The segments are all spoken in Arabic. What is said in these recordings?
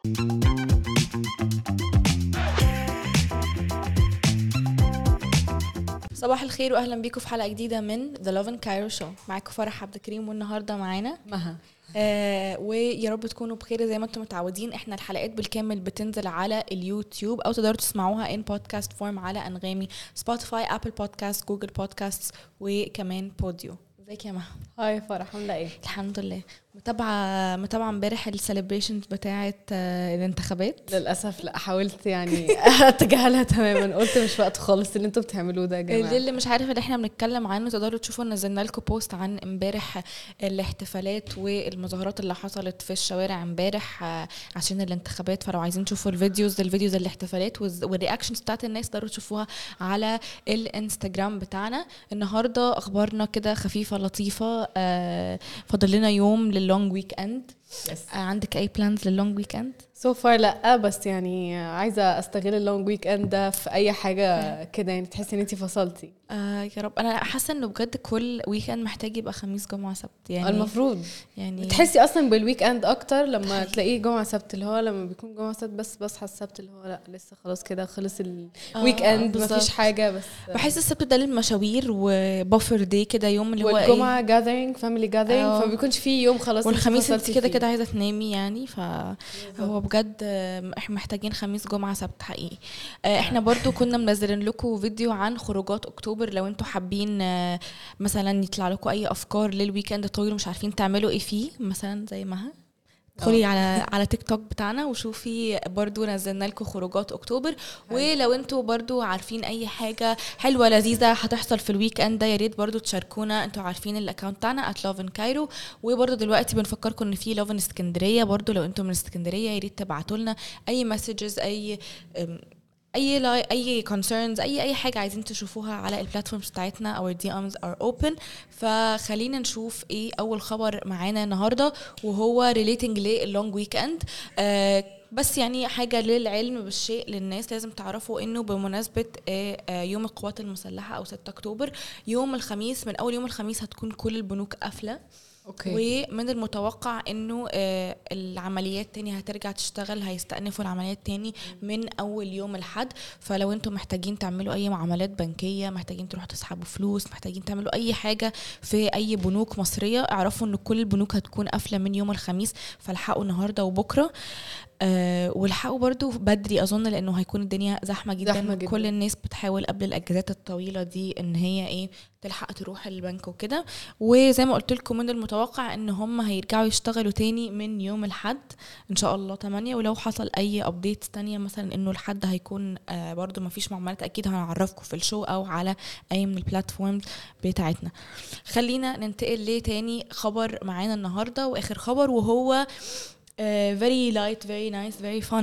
صباح الخير واهلا بيكم في حلقه جديده من The Love in Cairo Show. معاكم فرح عبد الكريم والنهارده معانا مها. ويا رب تكونوا بخير زي ما انتم متعودين. احنا الحلقات بالكامل بتنزل على اليوتيوب او تقدروا تسمعوها ان بودكاست فورم على انغامي، سبوتيفاي، ابل بودكاست، جوجل بودكاست وكمان بوديو. ازيك يا مها؟ هاي فرح، عامله ايه؟ الحمد لله. متابعه امبارح السليبريشنز بتاعه الانتخابات. للاسف لا، حاولت يعني اتجاهلها تماما، قلت مش وقت خالص اللي انتوا بتعملوه ده يا جماعه. اللي مش عارف اللي احنا بنتكلم عنه تقدروا تشوفوا، نزلنا لكم بوست عن امبارح الاحتفالات والمظاهرات اللي حصلت في الشوارع امبارح عشان الانتخابات. فلو عايزين تشوفوا الفيديوز الاحتفالات والرياكشنز بتاعت الناس تقدروا تشوفوها على الانستجرام بتاعنا. النهارده اخبارنا كده خفيفه لطيفه. فاضل لنا يوم لللونج ويك اند. عندك اي بلانز لللونج ويك اند؟ سو فار لا، بس يعني عايزه استغل اللونج ويك اند ده في اي حاجه كده، يعني تحسي ان انتي فصلتي. يا رب. انا حاسه انه بجد كل ويك اند محتاج يبقى خميس جمعه سبت، يعني المفروض يعني بتحسي اصلا بالويك اند اكتر لما تلاقيه جمعه سبت، اللي هو لما بيكون جمعه سبت بس بصحى السبت اللي هو لا لسه خلاص كده خلص الويك اند مفيش حاجه. بس بحس السبت ده للمشاوير وبفر دي كده، يوم اللي هو والجمعه جاذرينج فاميلي جاذرينج، فما بيكونش فيه يوم خلاص. والخميس انت كده عايزه تنامي يعني. فهو بجد احنا محتاجين خميس جمعه سبت حقيقي. احنا برضو كنا منزلين لكم فيديو عن خروجات اكتوبر، لو انتوا حابين مثلا يطلع لكم اي افكار للويكند الطويل ومش عارفين تعملوا ايه فيه، مثلا زي مها ادخلي على تيك توك بتاعنا وشوفي، برضو نزلنا لكم خروجات اكتوبر. ولو انتوا برضو عارفين اي حاجه حلوه لذيذه هتحصل في الويك اند ده، يا ريت برضو تشاركونا. انتوا عارفين الاكونت بتاعنا @loveandcairo. وبرضو دلوقتي بنفكركم ان في لوف ان اسكندريه، برضو لو انتوا من اسكندريه يا ريت تبعتوا لنا اي مسجز، اي concerns، اي حاجه عايزين تشوفوها على البلاتفورمز بتاعتنا. our DMs are open. فخلينا نشوف ايه اول خبر معانا النهارده، وهو relating للونج ويك اند. بس يعني حاجه للعلم بالشيء للناس لازم تعرفوا انه بمناسبه يوم القوات المسلحه او 6 اكتوبر، يوم الخميس، من اول يوم الخميس هتكون كل البنوك قافله. ومن المتوقع انه العمليات تاني هترجع تشتغل، هيستأنفوا العمليات تاني من اول يوم الحد. فلو انتم محتاجين تعملوا اي معاملات بنكية، محتاجين تروحوا تسحبوا فلوس، محتاجين تعملوا اي حاجة في اي بنوك مصرية، اعرفوا ان كل البنوك هتكون قافلة من يوم الخميس. فالحقوا النهاردة وبكرة، والحقوا برضو بدري اظن، لانه هيكون الدنيا زحمة جدا. كل الناس بتحاول قبل الاجازات الطويلة دي ان هي تلحق تروح البنك وكده. وزي ما قلت لكم من المتوقع ان هم هيرجعوا يشتغلوا تاني من يوم الحد ان شاء الله 8. ولو حصل اي ابديت تانية مثلا انه الحد هيكون برضو ما فيش معاملات، اكيد هنعرفكم في الشو او على اي من البلاتفورمز بتاعتنا. خلينا ننتقل لتاني خبر معانا النهاردة، واخر خبر، وهو very light, very nice, very fun.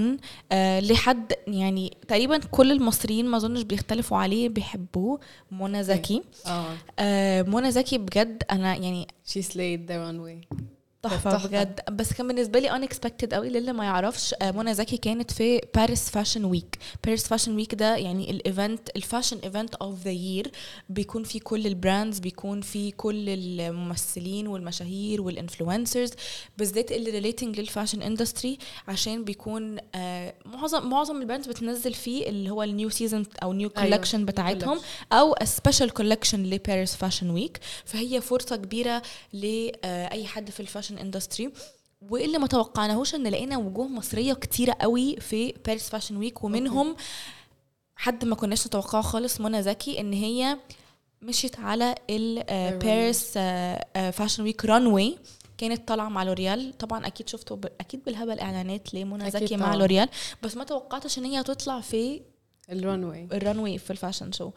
لحد يعني تقريبا كل المصريين ما اظنش بيختلفوا عليه، بيحبوه. منى زكي. منى زكي بجد انا يعني she slayed their own way. تحفة بجد. بس كان بالنسبة لي unexpected قوي للي ما يعرفش. منى زكي كانت في باريس فاشن ويك. باريس فاشن ويك ده يعني الايفنت، الفاشن ايفنت اوف ذا يير، بيكون فيه كل البراندز، بيكون فيه كل الممثلين والمشاهير والانفلونسرز، بالذات اللي ريليتنج للفاشن اندستري، عشان بيكون معظم البراندز بتنزل فيه اللي هو النيو سيزون او نيو كولكشن بتاعتهم، او سبيشال كولكشن لباريس فاشن ويك. فهي فرصة كبيرة لأي حد في الفاشن اندستري. واللي ما توقعناهوش ان لقينا وجوه مصريه كتيره قوي في باريس فاشن ويك، ومنهم حد ما كناش نتوقعه خالص، منى زكي، ان هي مشيت على الباريس فاشن ويك رانوي. كانت طالعه مع لوريال. طبعا اكيد شفتوا اكيد بالهبل اعلانات لمنى زكي مع لوريال، بس ما توقعتش ان هي تطلع في الرانوي في الفاشن شو.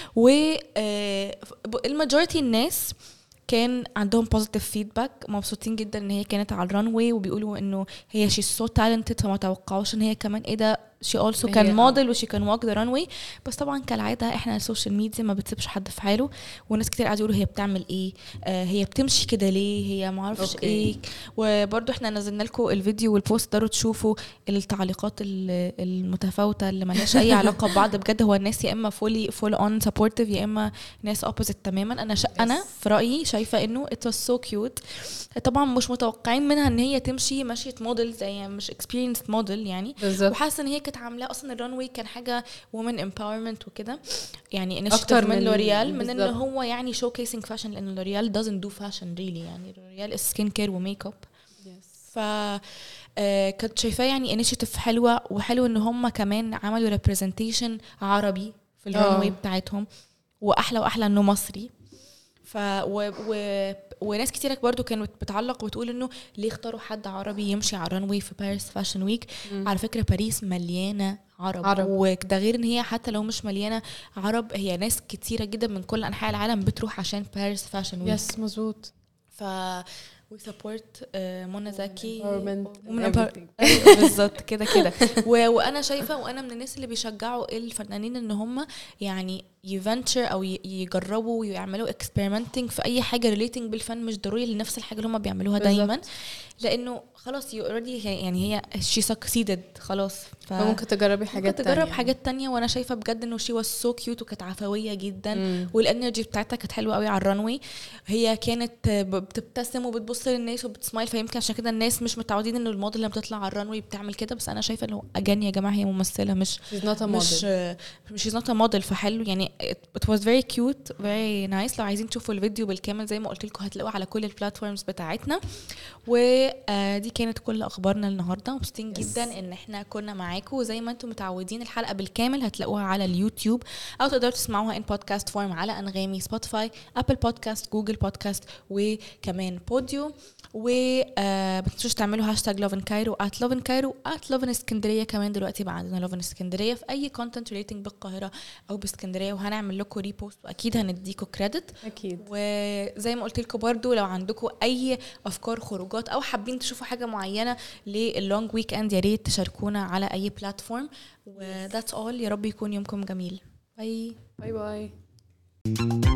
والماجوريتي الناس كان عندهم بوزيتيف فيدباك، مبسوطين جدا ان هي كانت على الرانوي، وبيقولوا انه هي شي سو تالنتد، فما توقعوش ان هي كمان ده she also كان موديل وشي كان walk the runway. بس طبعا كالعاده احنا السوشيال ميديا ما بتسيبش حد في حاله, وناس كتير قاعدوا يقولوا هي بتعمل ايه, هي بتمشي كده ليه, هي ما اعرفش ايه. وبرده احنا نزلنا لكم الفيديو والبوست, تقدروا تشوفوا التعليقات المتفاوته اللي مالهاش اي علاقه ببعض. بجد هو الناس يا اما full on supportive يا اما ناس opposite تماما. انا في رايي شايفه انه it was so cute. طبعا مش متوقعين منها ان هي تمشي مشية موديل زي مش experienced موديل يعني, وحاسه ان هي كانت عامله اصلا الرانوي كان حاجه women empowerment وكده يعني, اكتر من لوريال من ان هو يعني showcasing fashion, لان لوريال doesn't do fashion really يعني, لوريال is skin care وميك اب. ف كنت شايفاه يعني initiative حلوه, وحلو ان هم كمان عملوا representation عربي في الرانوي بتاعتهم, واحلى انه مصري. ف وناس كتيرة برضو كانت بتعلق وتقول انه ليه اختاروا حد عربي يمشي على الرانوي في باريس فاشن ويك. على فكرة باريس مليانة عرب. وده غير ان هي حتى لو مش مليانة عرب, هي ناس كتيرة جدا من كل انحاء العالم بتروح عشان باريس فاشن ويك. يس مظبوط. we support منى زكي بالظبط كده وانا شايفه, وانا من الناس اللي بيشجعوا الفنانين ان هم يعني يفنتشر او يجربوا ويعملوا experimenting في اي حاجه relating بالفن, مش ضروري لنفس الحاجه اللي هم بيعملوها دايما, لانه خلاص you already يعني هي she succeeded خلاص, فممكن تجربي حاجات تانية. تجرب حاجات تانية. وانا شايفه بجد انه she was so cute وكانت عفويه جدا, والانرجي بتاعتها كانت حلوه قوي على الرانوي. هي كانت بتبتسم وبتبص للناس وبتسمايل, فيمكن عشان كده الناس مش متعودين انه الموديل لما بتطلع على الرانوي بتعمل كده. بس انا شايفه انه اجان يا جماعه هي ممثله مش she's not a model, فحلو يعني. it was very cute very nice. لو عايزين تشوفوا الفيديو بالكامل زي ما قلت لكم هتلاقوه على كل البلاتفورمز بتاعتنا. ودي كانت كل اخبارنا النهارده. مبسوطين جدا ان احنا كنا معاكم, وزي ما انتم متعودين الحلقه بالكامل هتلاقوها على اليوتيوب, او تقدروا تسمعوها in podcast form على انغامي, سبوتيفاي, ابل بودكاست, جوجل بودكاست, وكمان بوديو. ما تنسوش تعملوا هاشتاج lovincairo @lovincairo @lovinاسكندريه. كمان دلوقتي بقى عندنا لوفن اسكندريه في اي كونتنت ريليتنج بالقاهره او باسكندريه, وهنعمل لكم ريبوست واكيد هنديكم كريدت اكيد. وزي ما قلت لكم برضو لو عندكم اي افكار خروجات او حابين تشوفوا حاجه معينه لللونج ويك اند, يا ريت تشاركونا على اي بلاتفورم. وذاتس اول. يا رب يكون يومكم جميل. باي باي باي.